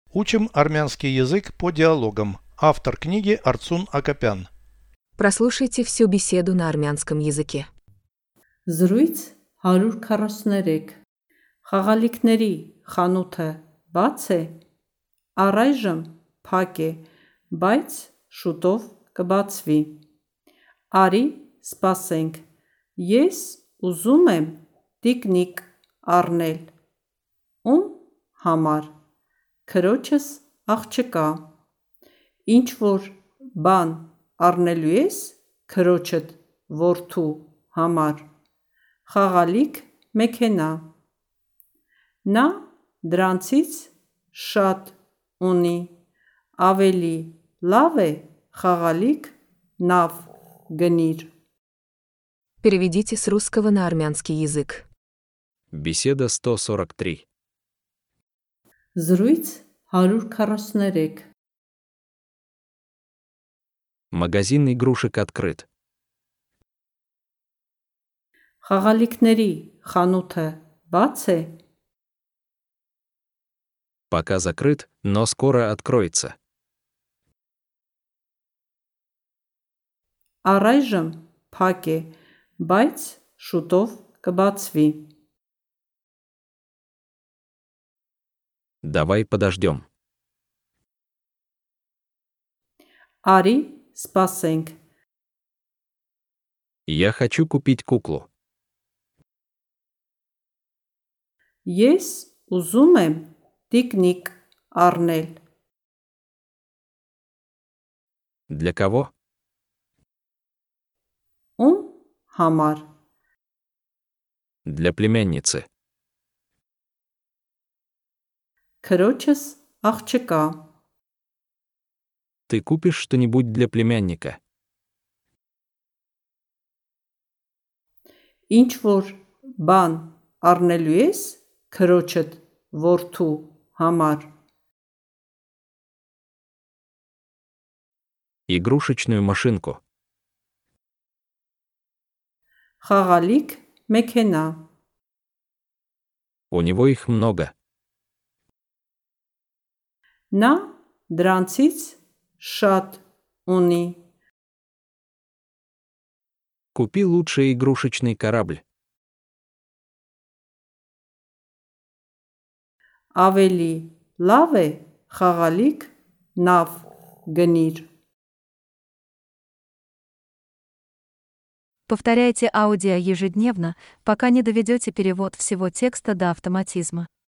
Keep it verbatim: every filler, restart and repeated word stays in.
Учим армянский язык по диалогам. Автор книги Арцун Акопян. Прослушайте всю беседу на армянском языке. Զրույց հարյուր քառասուններեք Խաղալիքների խանութը բաց է, առայժմ փակ է, բայց շուտով կբացվի։ Արի սպասենք, ես ուզում եմ տիկնիկ առնել։ Ում համար։ Քրոջս աղջկա։ Ինչ որ բան առնելու ես քրոջդ որդու համար։ Խաղալիք մեքենա։ Նա դրանցից շատ ունի, ավելի լավ է խաղալիք նավ գնիր։ Переведите с русского на армянский язык. Беседа сто сорок три. Զրույց հարյուր քառասուններեք Магазин игрушек открыт. Խաղալիքների խանութը բաց է, Пока закрыт, но скоро откроется. առայժմ փակ է, բայց շուտով կբացվի։ Давай подождем. Արի սպասենք, Я хочу купить куклу. ես ուզում եմ տիկնիկ առնել։ Для кого? Ում համար։ Для племянницы. Քրոջս աղջկա։ Ты купишь что-нибудь для племянника? Ինչ որ բան առնելու ես քրոջդ որդու համար։ Игрушечную машинку. Խաղալիք մեքենա։ У него их много. Նա դրանցից շատ ունի, Купи лучший игрушечный корабль. ավելի լավ է խաղալիք նավ գնիր։ Повторяйте аудио ежедневно, пока не доведете перевод всего текста до автоматизма.